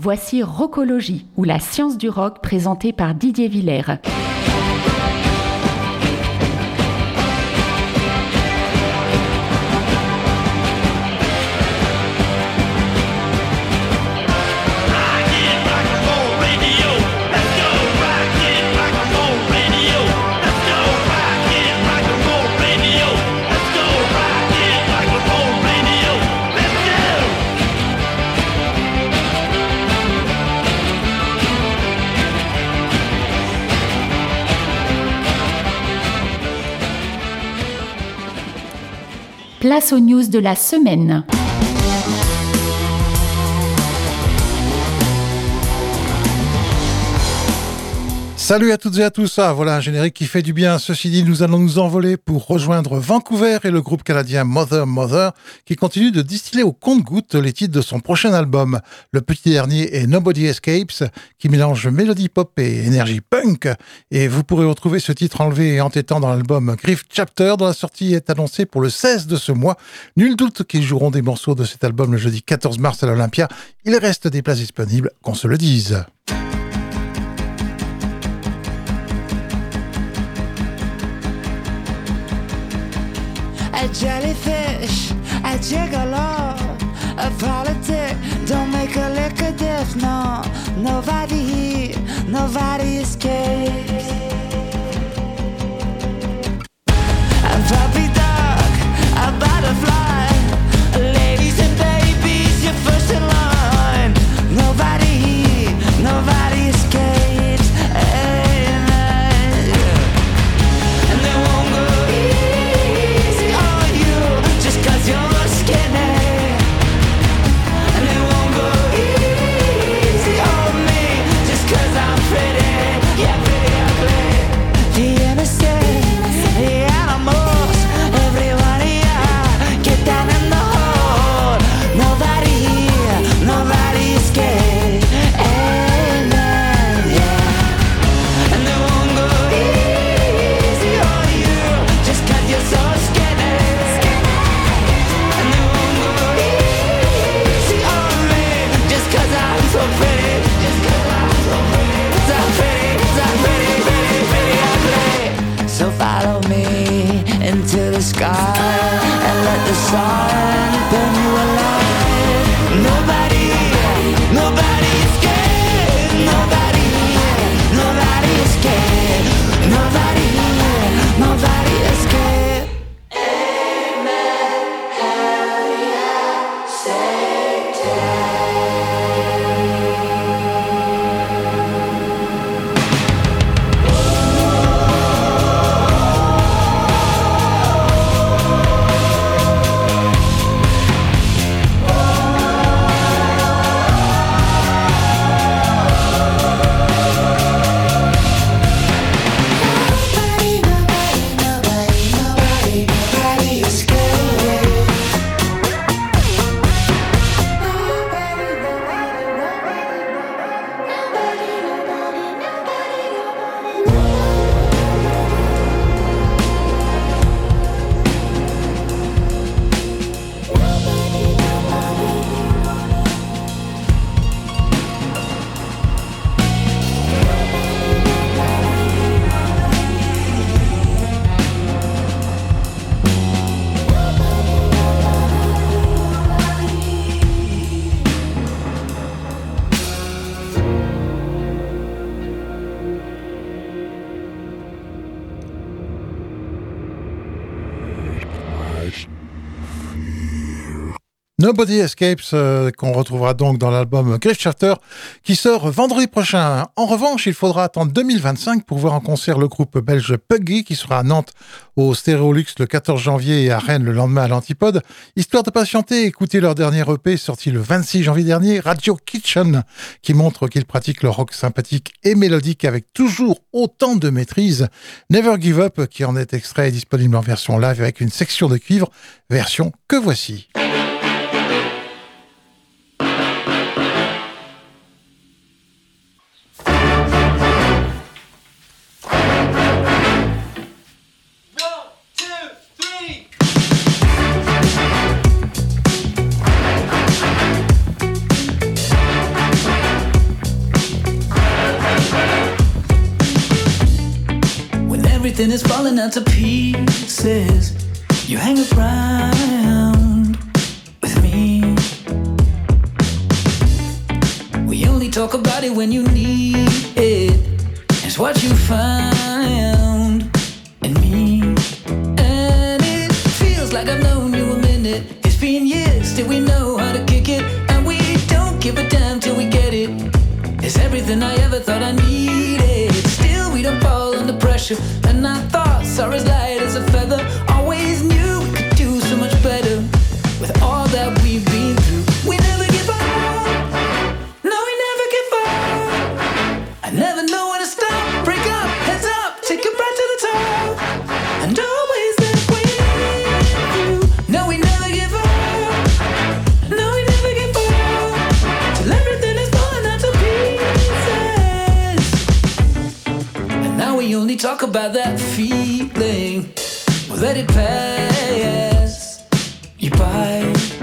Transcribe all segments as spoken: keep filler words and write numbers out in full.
voici Rockologie, ou la science du rock présentée par Didier Villers. Place aux news de la semaine. Salut à toutes et à tous, ah, voilà un générique qui fait du bien. Ceci dit, nous allons nous envoler pour rejoindre Vancouver et le groupe canadien Mother Mother qui continue de distiller au compte-gouttes les titres de son prochain album. Le petit dernier est Nobody Escapes qui mélange mélodie pop et énergie punk, et vous pourrez retrouver ce titre enlevé et entêtant dans l'album Grief Chapter dont la sortie est annoncée pour le seize de ce mois. Nul doute qu'ils joueront des morceaux de cet album le jeudi quatorze mars à l'Olympia. Il reste des places disponibles, qu'on se le dise. A jellyfish, a gigolo, a politic, don't make a lick of diff, no. Nobody here, nobody escapes. A puppy dog, a butterfly, ladies and babies, you're first in line. Nobody here, nobody escapes. Amen. And they won't go easy on you just cause you're skinny. And they won't go easy on me just cause I'm pretty. Yeah, pretty ugly. The innocent, the animals, everyone here, get down in the hole. Nobody here, nobody escapes. Amen, yeah. And they won't go easy on you just cause you're so skinny. And they won't go easy on me just cause I'm so pretty. Just cause I'm so pretty. So pretty, so pretty, pretty, pretty ugly. So follow me into the sky and let the sun burn you alive. Nobody, nobody escaped. Nobody, nobody escaped. Nobody, nobody escaped. Amen. Hell yeah, Satan. Nobody Escapes, euh, qu'on retrouvera donc dans l'album Grief Chapter, qui sort vendredi prochain. En revanche, il faudra attendre deux mille vingt-cinq pour voir en concert le groupe belge Puggy, qui sera à Nantes au Stéréolux le quatorze janvier et à Rennes le lendemain à l'Antipode. Histoire de patienter, écoutez leur dernier E P sorti le vingt-six janvier dernier, Radio Kitchen, qui montre qu'ils pratiquent le rock sympathique et mélodique avec toujours autant de maîtrise. Never Give Up, qui en est extrait, est disponible en version live avec une section de cuivre, version que voici. Three. everything is falling out to pieces. You hang around with me. We only talk about it when you need it. It's what you found in me. And it feels like I've known you a minute. It's been years till we know how to kick it. And we don't give a damn till we get it. It's everything I ever thought I needed. Still we don't fall under pressure. And our thoughts are as light as a feather. Always knew we could do so much better. With all that we've been through, we never give up. No, we never give up. I never know when to stop. Break up, heads up, take it right to the top. And always there with you. No, we never give up. No, we never give up. Till everything is falling out to pieces. And now we only talk about that feeling. We'll let it pass you by.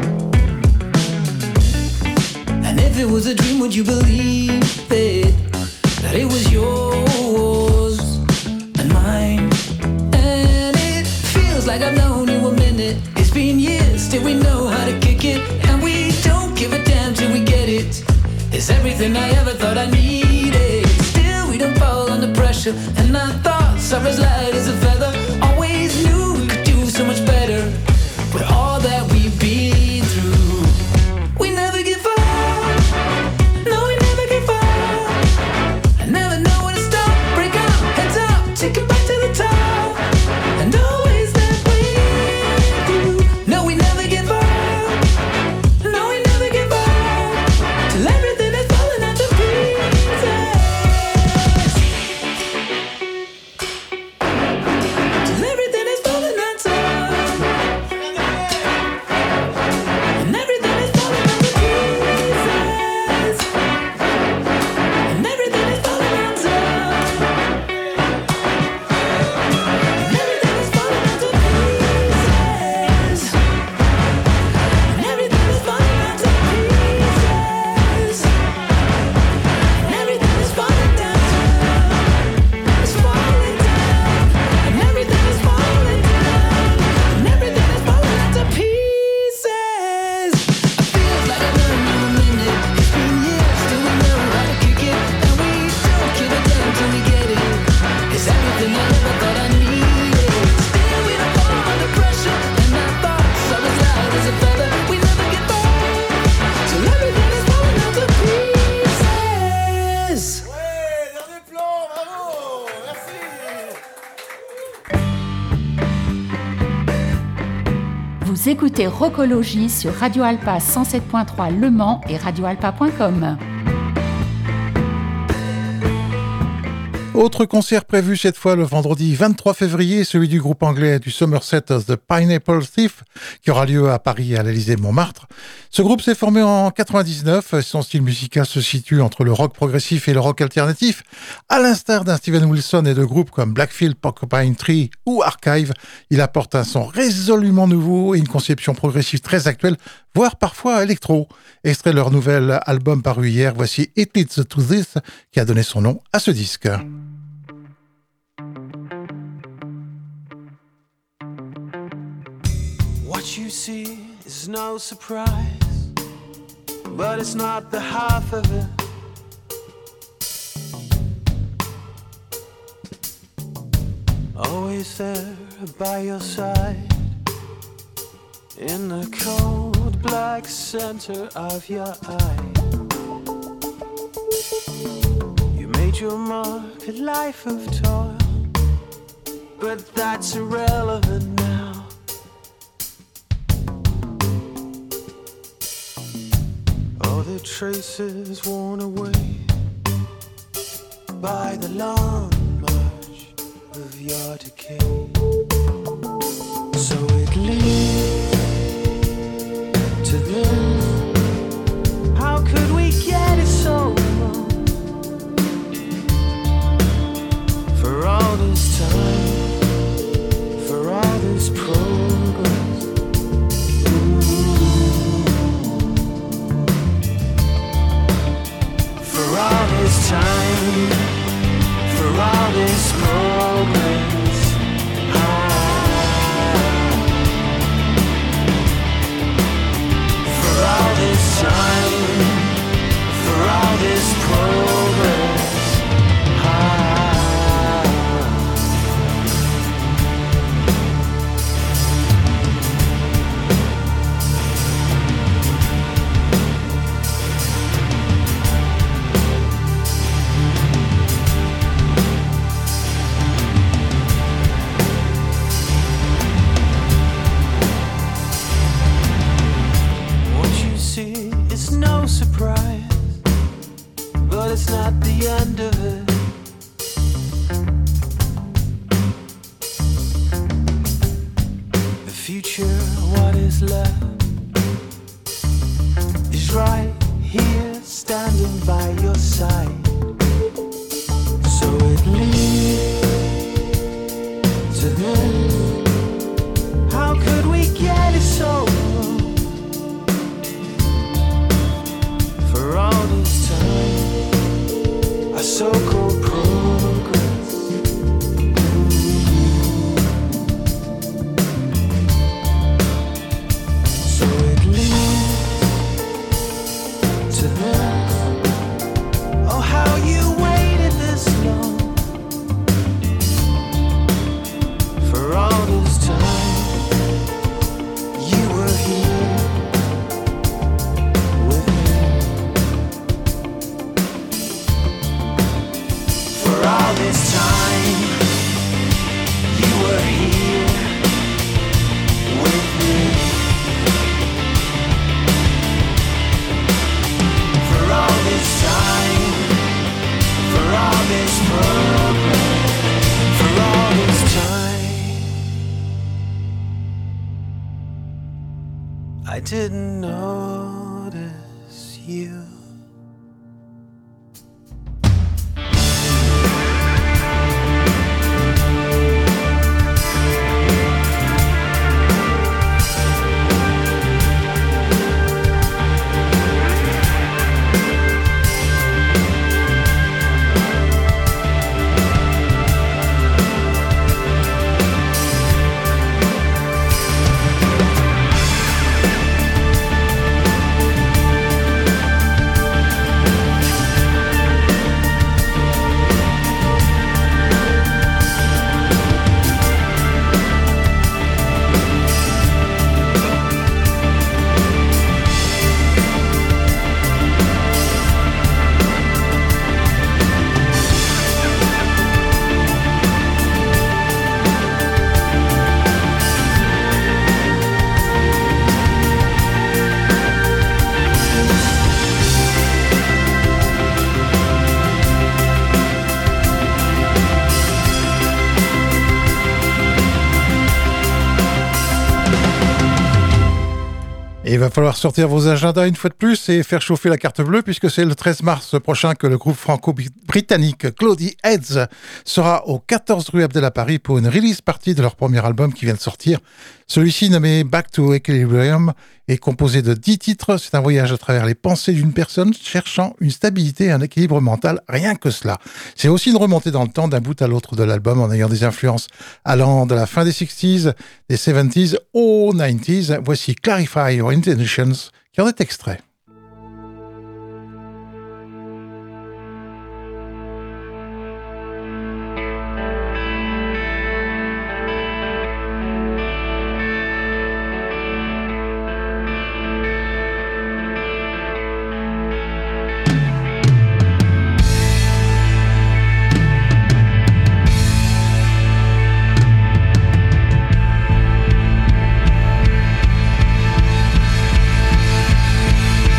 And if it was a dream, would you believe it? That it was yours and mine. And it feels like I've known you a minute. It's been years till we know how to kick it. And we don't give a damn till we get it. It's everything I ever thought I needed. Still we don't fall under pressure. And our thoughts are as light as a feather. Always knew we could do so much better. With all that we've been through, we never give up. No, we never give up. I never know when to stop. Break up, heads up, take it back to the top. And always there with you. No, we never give up. No, we never give up. Till everything is falling out to pieces. Till everything is falling out to. And everything is falling out to pieces. And everything is falling out to. And everything is falling out to pieces. And everything is falling out to pieces. And everything is falling down to. It's falling down. And everything is falling down. And everything is falling out to pieces. I feel like I've known you a minute. It's been years till we know how to kick it. And we don't give a damn till we get it. It's everything I ever thought I needed. Still we don't fall under pressure. And our thoughts are as light as a feather. We never give up. Till everything is falling out to pieces. Ouais, dernier plan, bravo, merci. Vous écoutez Rockologie sur Radio Alpa cent sept point trois Le Mans et radio alpa point com. Autre concert prévu cette fois le vendredi vingt-trois février, celui du groupe anglais du Somerset The Pineapple Thief, qui aura lieu à Paris à l'Élysée-Montmartre. Ce groupe s'est formé en quatre-vingt-dix-neuf. Son style musical se situe entre le rock progressif et le rock alternatif. À l'instar d'un Steven Wilson et de groupes comme Blackfield, Porcupine Tree ou Archive, il apporte un son résolument nouveau et une conception progressive très actuelle, voire parfois électro. Extrait de leur nouvel album paru hier, voici It Leads to This, qui a donné son nom à ce disque. What you see is no surprise, but it's not the half of it. Always there by your side, in the cold black center of your eye. You made your mark, a life of toil, but that's irrelevant now. All the traces worn away by the long march of your decay. So it leads to this. How could we get it so wrong? For all this time, for all this progress, for all this time, for all this progress. future, what is left is right here, standing by your side. So it leads to this. How could we get it so wrong? For all this time, our so-called progress. So it leads to this. Oh, how you waited this long. For all this time, you were here with me. For all this time, you were here with me. For all this time, for all this progress, for all this time, I didn't notice you. Et il va falloir sortir vos agendas une fois de plus et faire chauffer la carte bleue puisque c'est le treize mars prochain que le groupe franco-britannique Cloudy Heads sera au quatorze rue Abdel à Paris pour une release party de leur premier album qui vient de sortir. Celui-ci, nommé Back to Equilibrium, est composé de dix titres. C'est un voyage à travers les pensées d'une personne cherchant une stabilité et un équilibre mental, rien que cela. C'est aussi une remontée dans le temps d'un bout à l'autre de l'album en ayant des influences allant de la fin des sixties, des seventies aux nineties. Voici Clarify Your Intentions qui en est extrait. Clarify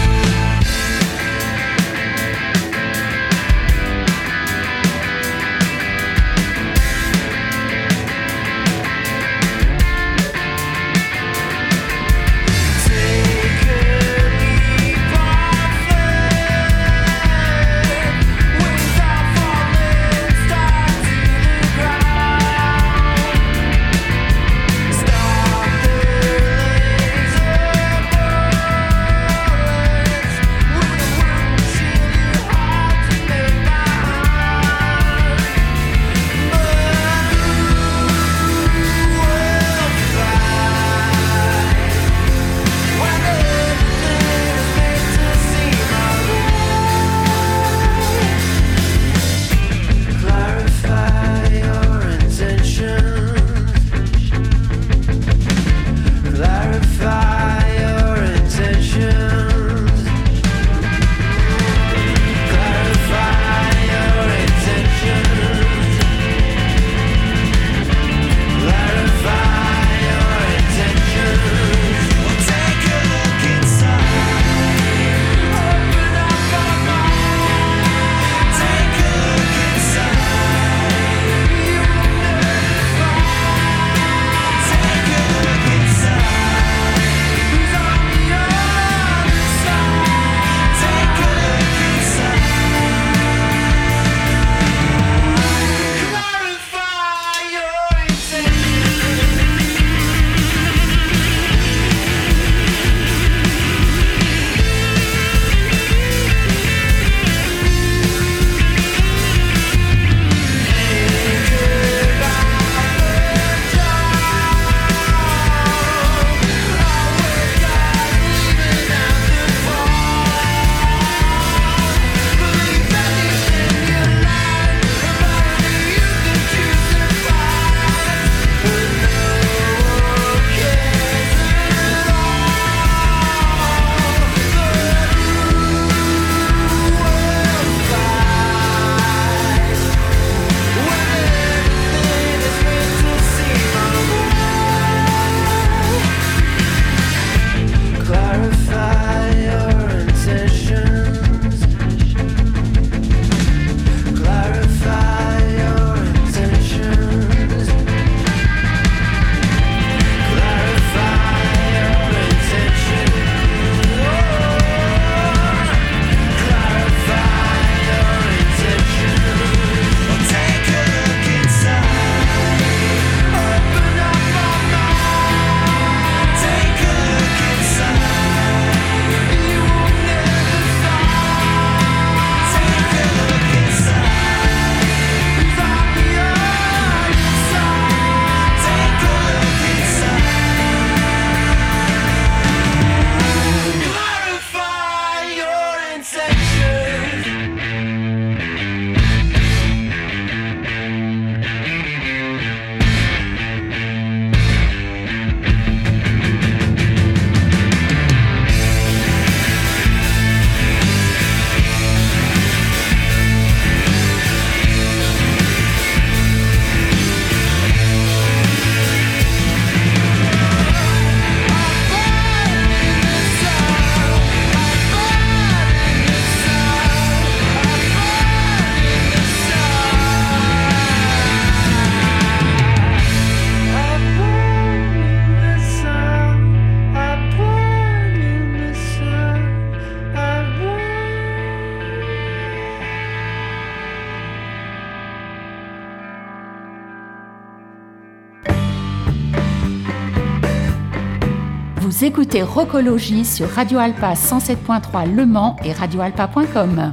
Vous écoutez Rockologie sur Radio Alpa cent sept point trois Le Mans et radio alpa point com.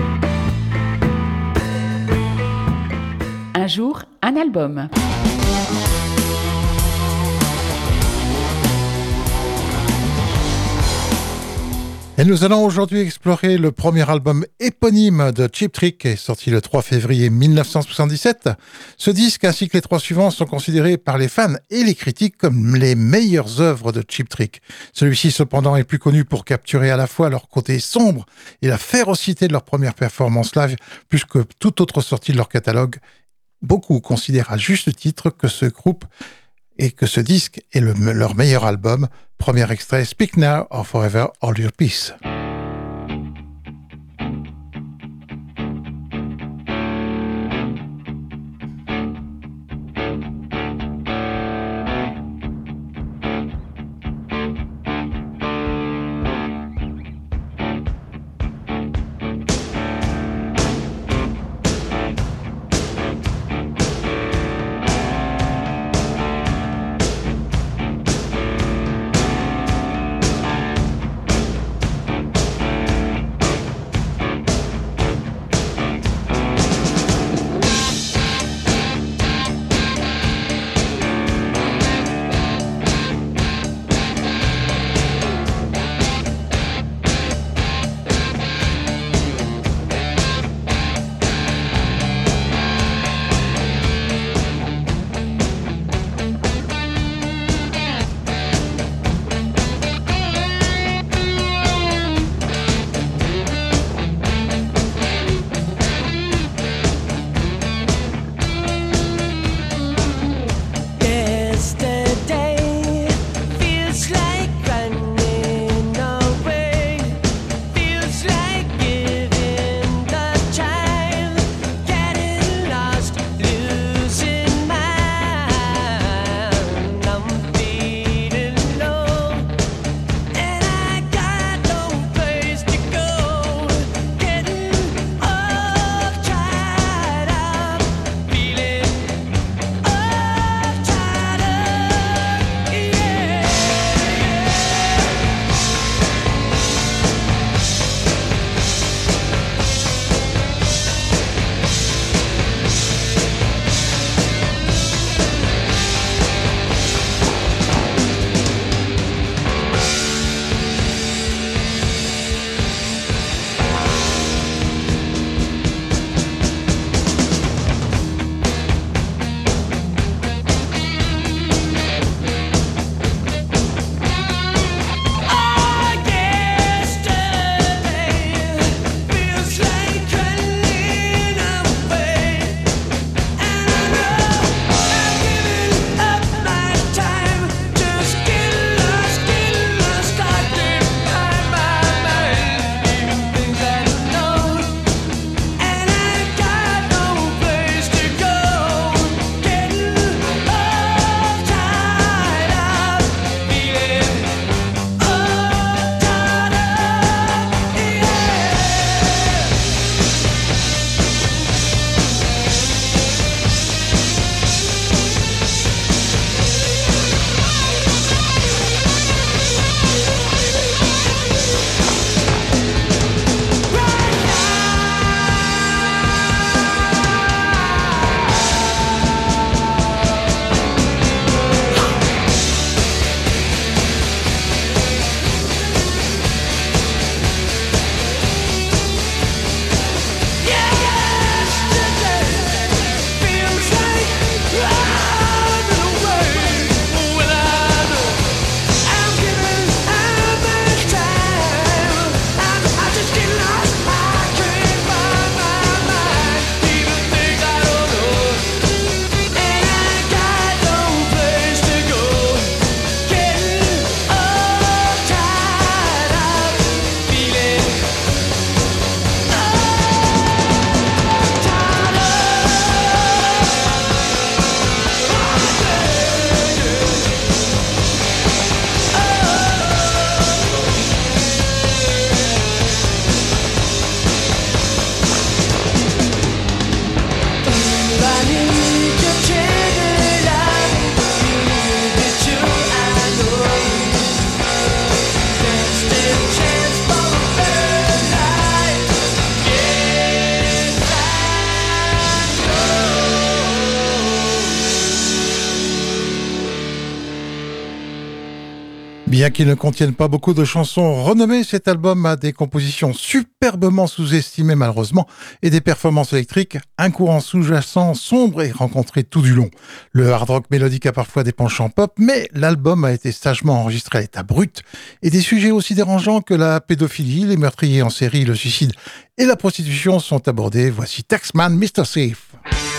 Un jour, un album. Et nous allons aujourd'hui explorer le premier album éponyme de Cheap Trick, qui est sorti le trois février mille neuf cent soixante-dix-sept. Ce disque ainsi que les trois suivants sont considérés par les fans et les critiques comme les meilleures œuvres de Cheap Trick. Celui-ci cependant est plus connu pour capturer à la fois leur côté sombre et la férocité de leur première performance live, plus que toute autre sortie de leur catalogue. Beaucoup considèrent à juste titre que ce groupe et que ce disque est le, leur meilleur album. Premier extrait, Speak Now or Forever Hold Your Peace. Bien qu'il ne contienne pas beaucoup de chansons renommées, cet album a des compositions superbement sous-estimées malheureusement et des performances électriques, un courant sous-jacent sombre et rencontré tout du long. Le hard rock mélodique a parfois des penchants pop, mais l'album a été sagement enregistré à l'état brut et des sujets aussi dérangeants que la pédophilie, les meurtriers en série, le suicide et la prostitution sont abordés. Voici Taxman, mister Safe.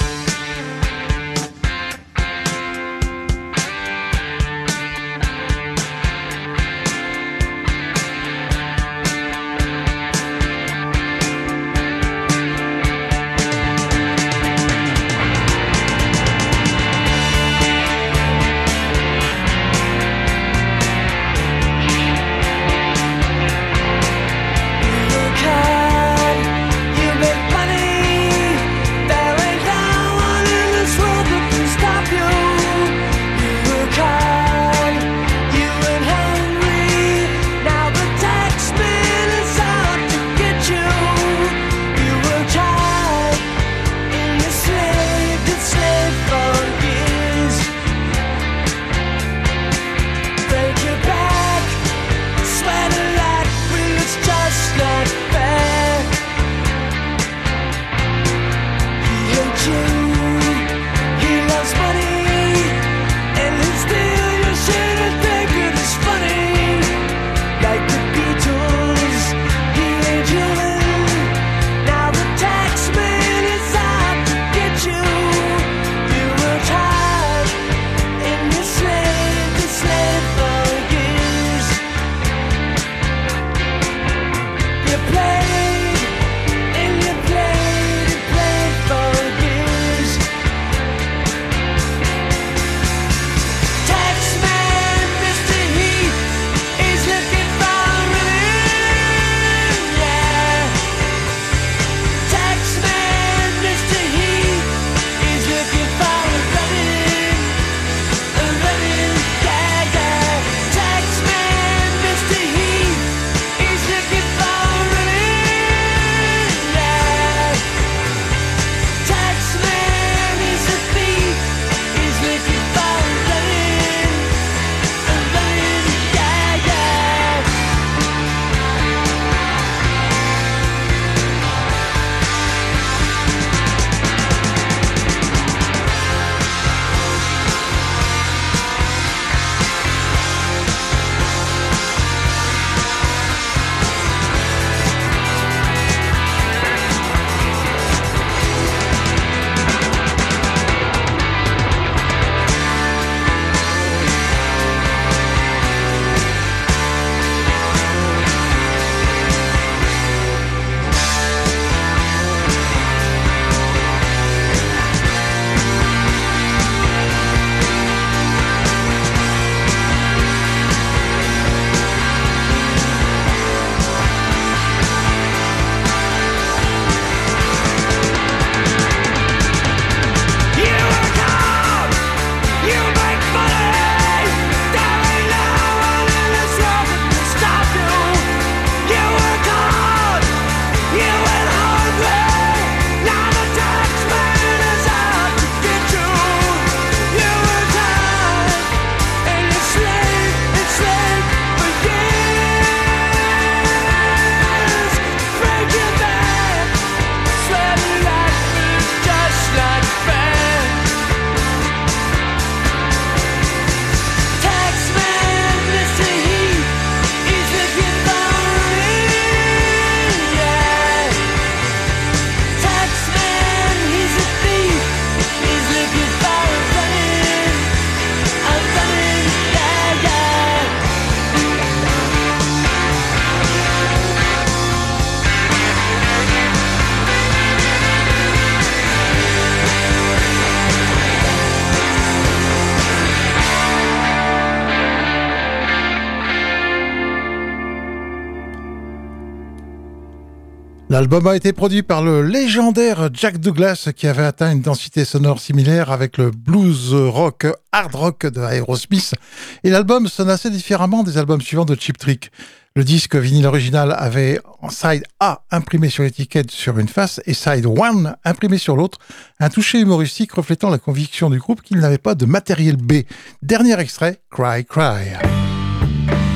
L'album a été produit par le légendaire Jack Douglas qui avait atteint une densité sonore similaire avec le blues rock, hard rock de Aerosmith et l'album sonne assez différemment des albums suivants de Cheap Trick. Le disque vinyle original avait en side A imprimé sur l'étiquette sur une face et side un imprimé sur l'autre, un toucher humoristique reflétant la conviction du groupe qu'il n'avait pas de matériel B. Dernier extrait, Cry Cry.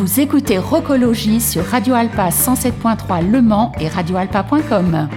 Vous écoutez Rockologie sur Radio Alpa cent sept point trois Le Mans et radio alpa point com.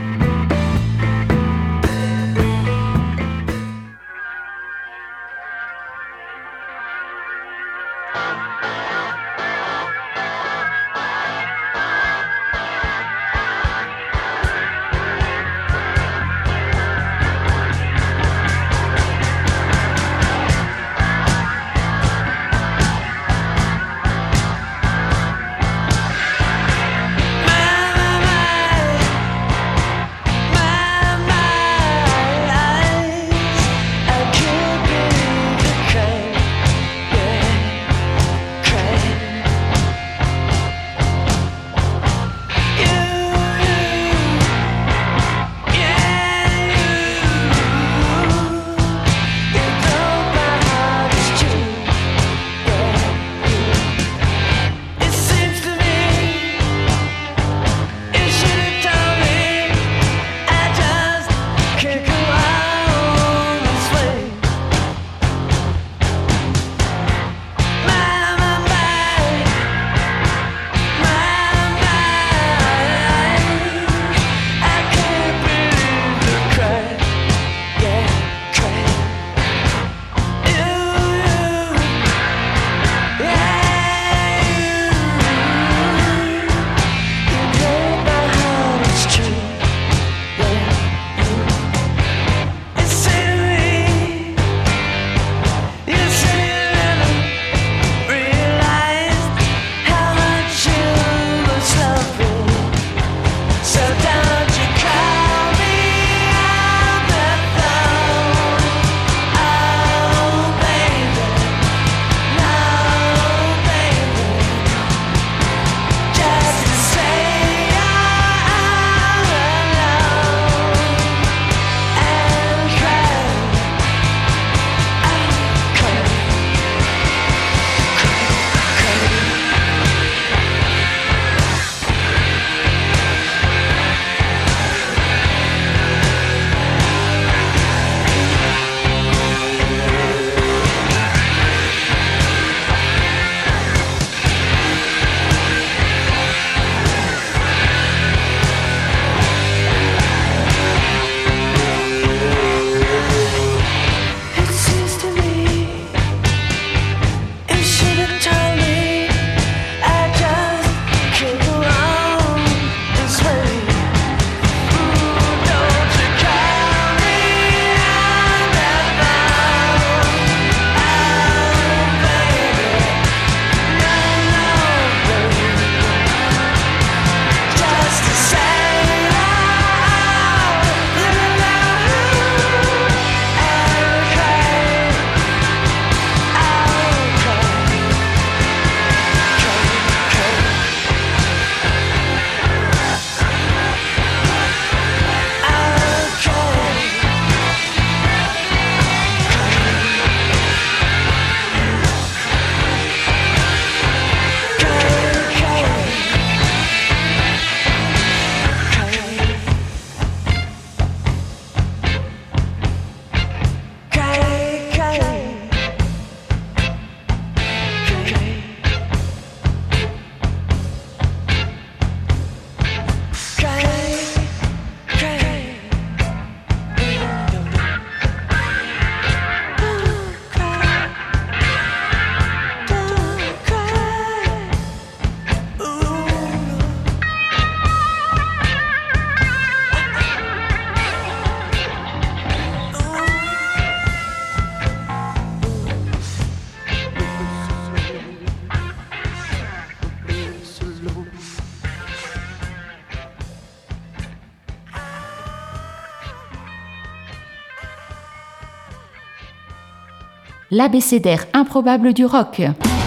L'abécédaire improbable du rock.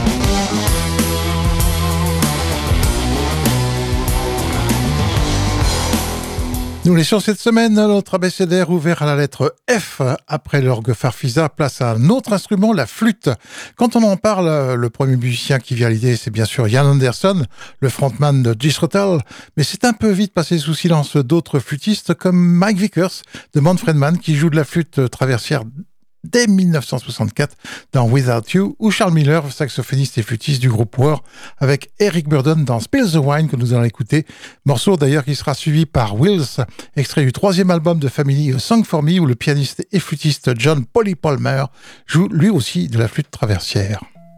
Nous laissons cette semaine notre abécédaire ouvert à la lettre F. Après l'orgue farfisa, place à un autre instrument, la flûte. Quand on en parle, le premier musicien qui vient à l'idée, c'est bien sûr Ian Anderson, le frontman de Jethro, mais c'est un peu vite passé sous silence d'autres flûtistes comme Mike Vickers de Manfred Mann qui joue de la flûte traversière dès dix-neuf cent soixante-quatre dans Without You, ou Charles Miller, saxophoniste et flûtiste du groupe War, avec Eric Burdon dans Spill the Wine que nous allons écouter, morceau d'ailleurs qui sera suivi par Wills, extrait du troisième album de Family, A Song for Me, où le pianiste et flûtiste John Polly Palmer joue lui aussi de la flûte traversière.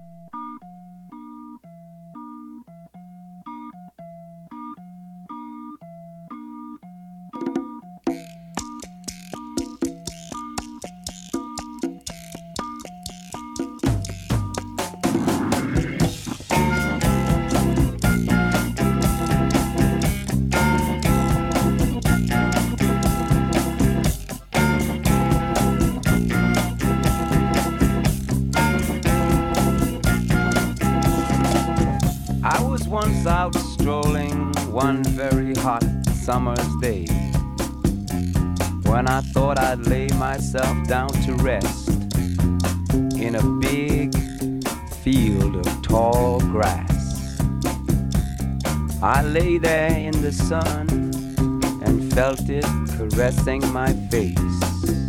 Out strolling one very hot summer's day, when I thought I'd lay myself down to rest in a big field of tall grass. I lay there in the sun and felt it caressing my face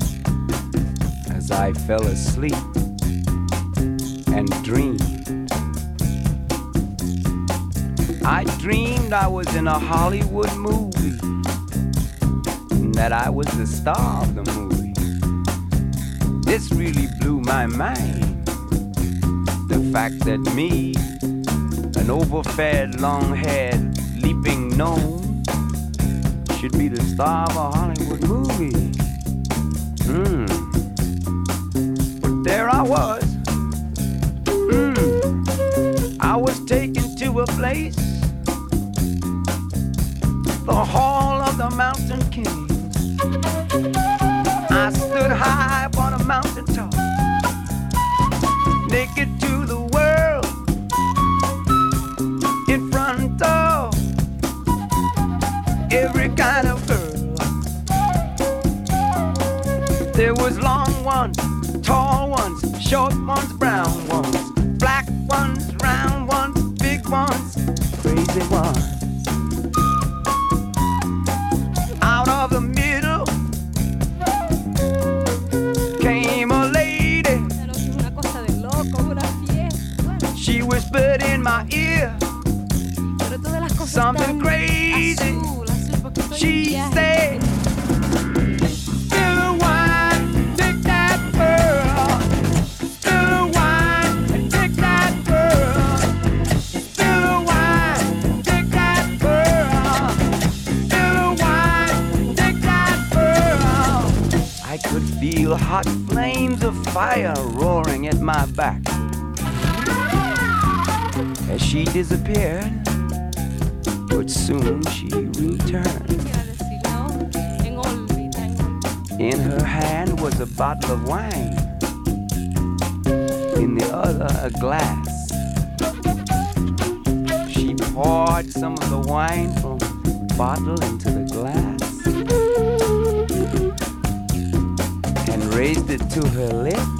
as I fell asleep and dreamed. I dreamed I was in a Hollywood movie, and that I was the star of the movie. This really blew my mind. The fact that me, an overfed, long-haired, leaping gnome, should be the star of a Hollywood movie. Hmm. But there I was. Hmm. I was taken to a place, the Hall of the Mountain King. I stood high upon a mountain top, naked to the world, in front of every kind of girl. There was long ones, tall ones, short ones, brown ones, black ones, round ones, big ones, crazy ones. Out of the middle came a lady. She whispered in my ear something crazy. She said, "Spill the wine, take that pearl. Spill the wine and take that pearl. Spill the wine, take that pearl. Spill the wine, take that pearl." I could feel hot flames of fire roaring at my back as she disappeared, but soon she returned. In her hand was a bottle of wine, in the other a glass. She poured some of the wine from the bottle into the glass and raised it to her lips.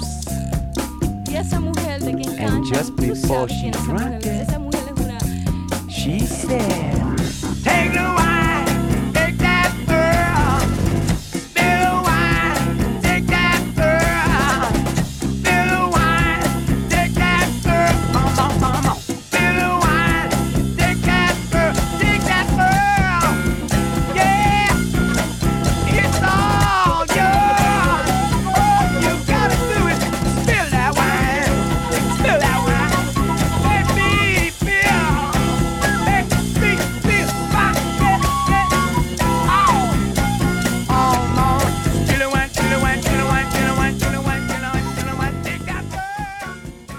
And just before she drank it, she said, "Take the wine, take that pearl. Spill the wine, take that pearl. Spill the wine, take that pearl. Come on, come on. Spill the wine, take that pearl, take that pearl. Yeah, it's all yours. You gotta do it. Spill that wine, spill that wine. Let me feel, let me feel my head. Oh, oh no. Spill the wine, spill the wine, spill the wine, spill the wine, spill the wine, spill the wine, spill the wine. Take that pearl.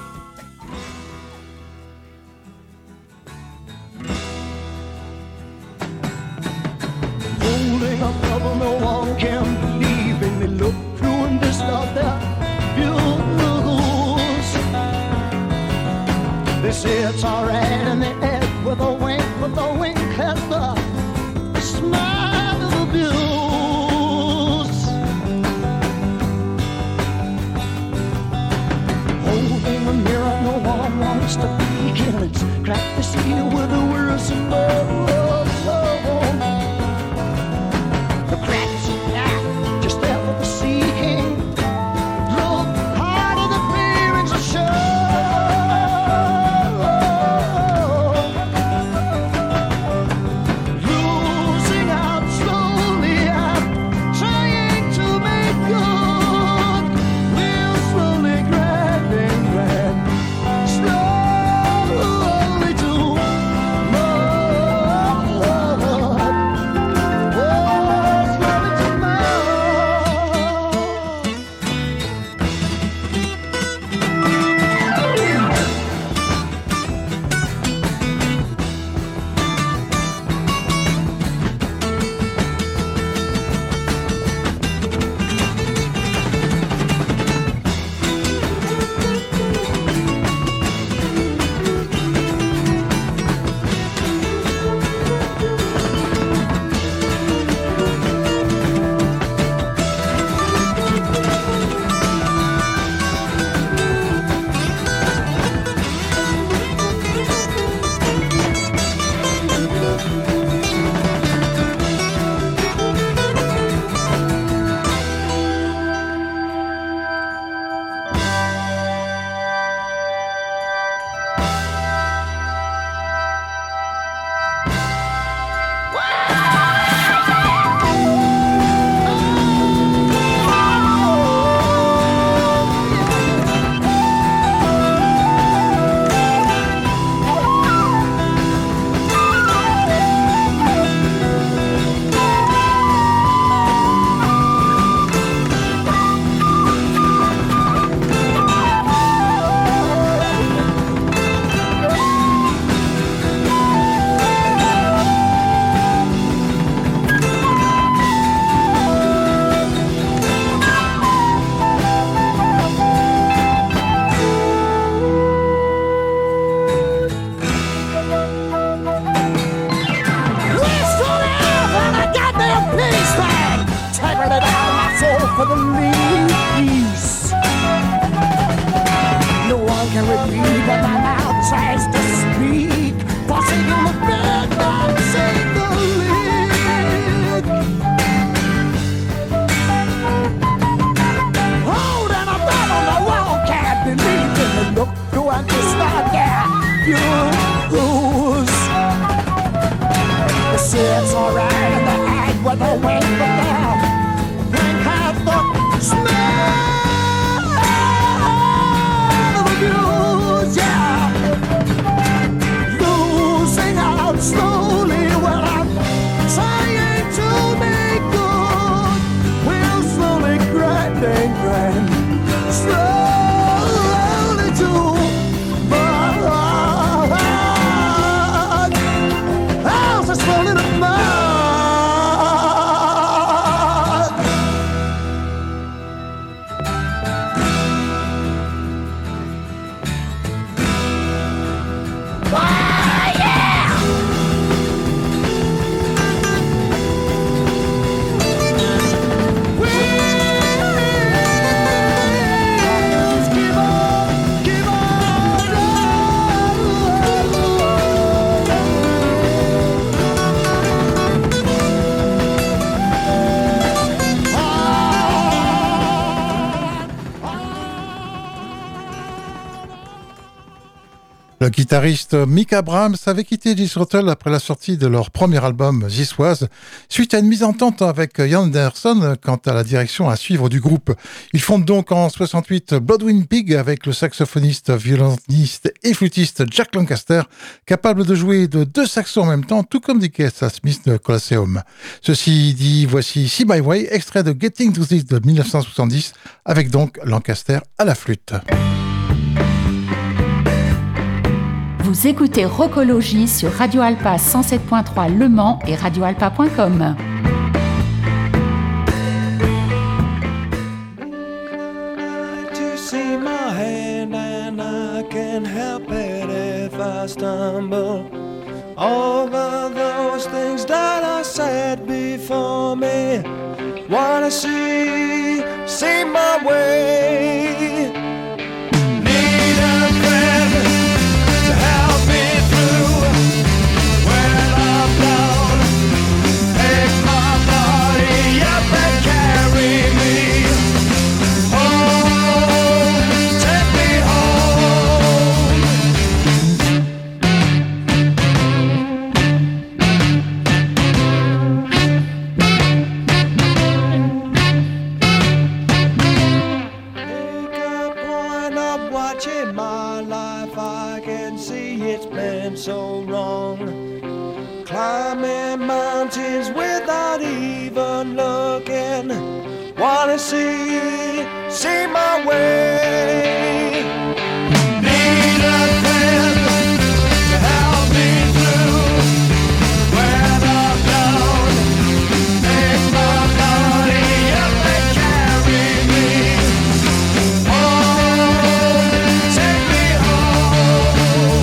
Holding up trouble, no one can believe in me. Look through and this out there, views. They say it's alright in the head with a wink, with a wink has the smile of abuse. Holding a mirror, no one wants to be in it. Crack the seal with the words of love. The cracks in that, just there for the seeking. Love refuse. They say it's alright and they act with a wink, but they drink half the smell of abuse, yeah. Losing out slowly when I'm trying to make good. We'll slowly grind and grind, slowly to burn. How's this falling apart? Le guitariste Mick Abrahams avait quitté Jethro après la sortie de leur premier album This Was, suite à une mise en tente avec Ian Anderson quant à la direction à suivre du groupe. Ils fondent donc en soixante-huit Bloodwind Pig avec le saxophoniste, violoniste et flûtiste Jack Lancaster, capable de jouer de deux saxos en même temps, tout comme Dick à Smith de Colosseum. Ceci dit, voici See My Way, extrait de Getting to This de dix-neuf cent soixante-dix, avec donc Lancaster à la flûte. Vous écoutez Rockologie sur Radio Alpa cent sept point trois Le Mans et radio alpa point com. To see my hand and I can't help it if I stumble over those things that I said before me. Wanna see, see my way. Need a friend to help me through when I'm down. Take my body up and carry me home. Take me home. Take a point of watching my life. I can see it's been so wrong. Climbing mountains without even looking. Wanna see, see my way. Need a friend to help me through when I'm down. Take my body up and carry me home. Take me home.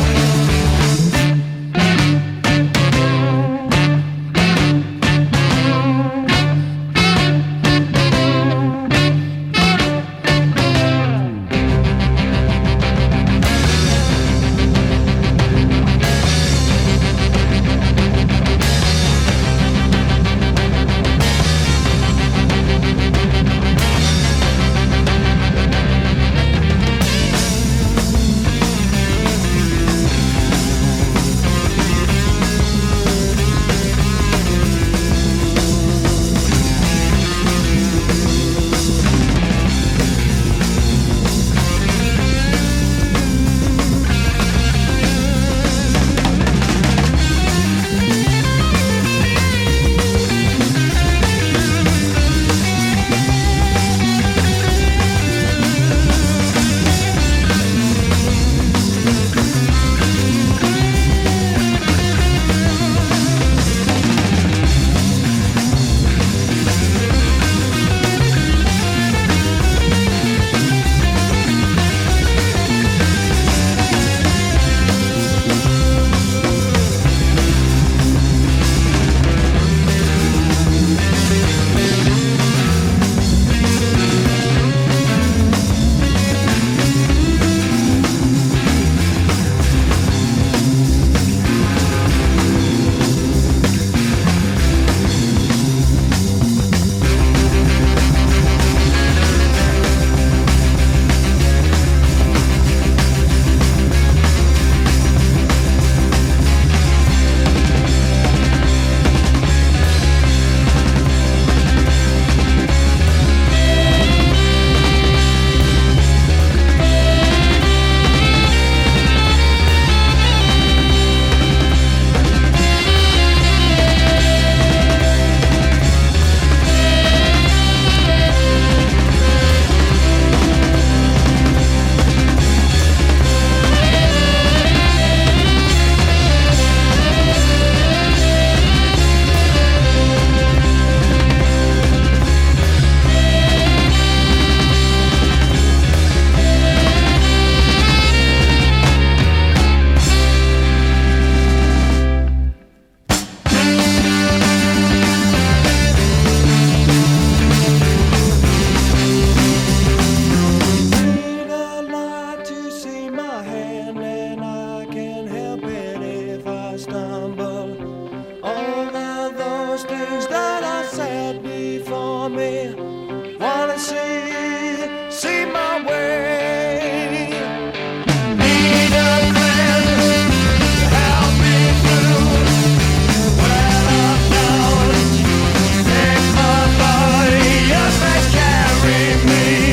things that I said before me. Wanna see, see my way. Need a friend to help me through. When I'm down, take my body up and carry me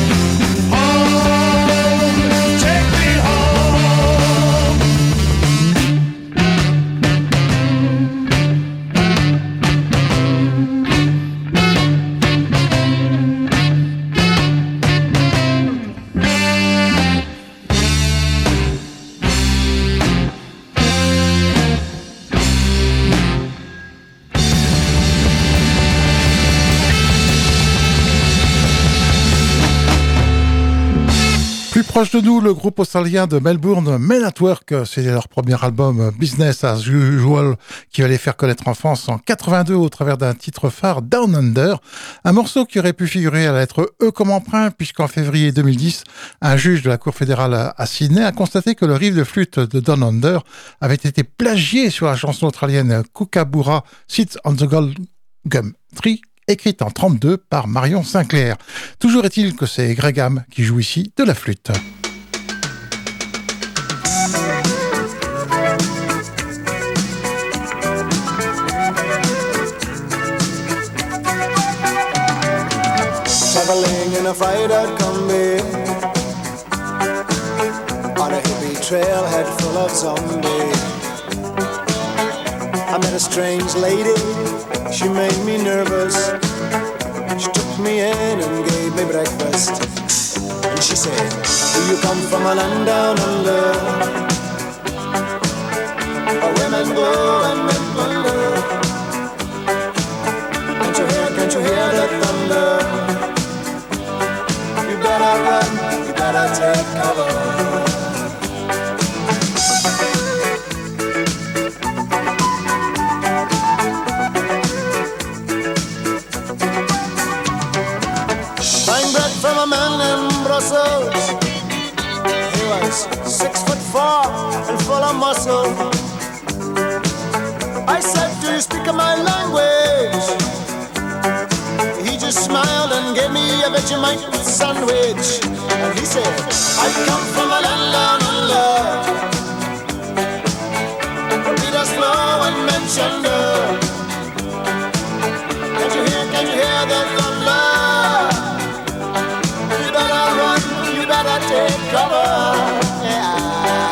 home. Take me home. Proche de nous, le groupe australien de Melbourne, Men at Work, c'est leur premier album Business as Usual qui va les faire connaître en France en quatre-vingt-deux au travers d'un titre phare, Down Under, un morceau qui aurait pu figurer à la lettre E comme emprunt puisqu'en février deux mille dix, un juge de la Cour fédérale à Sydney a constaté que le riff de flûte de Down Under avait été plagié sur la chanson australienne Kookaburra Sits on the Gold Gum Tree, écrite en trente-deux par Marion Sinclair. Toujours est-il que c'est Graham qui joue ici de la flûte. Traveling in a Friday combi on a hippie trailhead full of zombies. I met a strange lady, she made me nervous. She took me in and gave me breakfast. And she said, do you come from a land down under, where women go and men wonder? Can't you hear, can't you hear the thunder? You better run, you better take cover. From a man in Brussels, he was six foot four and full of muscle. I said, do you speak my language? He just smiled and gave me a Vegemite sandwich. And he said, I come from a land down under, where Peter's flow and Manchester. Can't you hear, can't you hear the thunder? Take cover, yeah.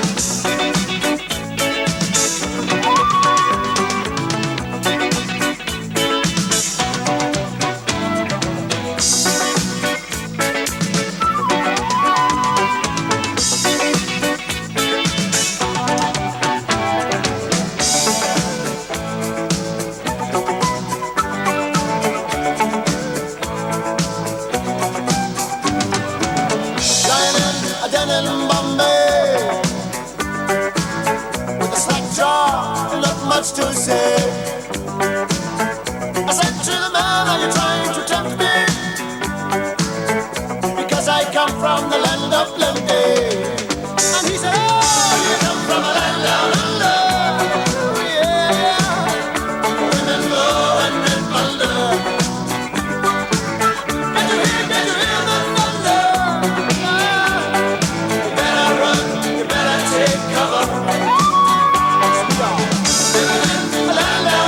To say, I said to the man, are you trying to tempt me? Because I come from the land of plenty. And he said, oh, you come from a land down under. Oh, yeah, women go and men wonder. Can you hear, can you hear the thunder? Ah, you better run, you better take cover. La la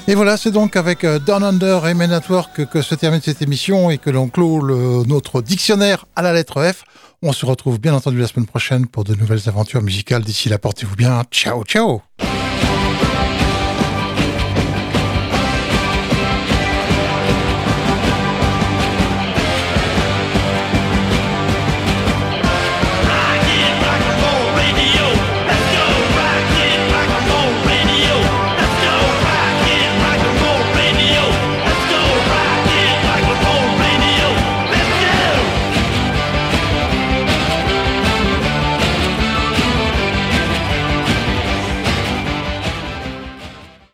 Et voilà, c'est donc avec Down Under et Men at Work que se termine cette émission et que l'on clôt le, notre dictionnaire à la lettre F. On se retrouve bien entendu la semaine prochaine pour de nouvelles aventures musicales. D'ici là, portez-vous bien. Ciao, ciao.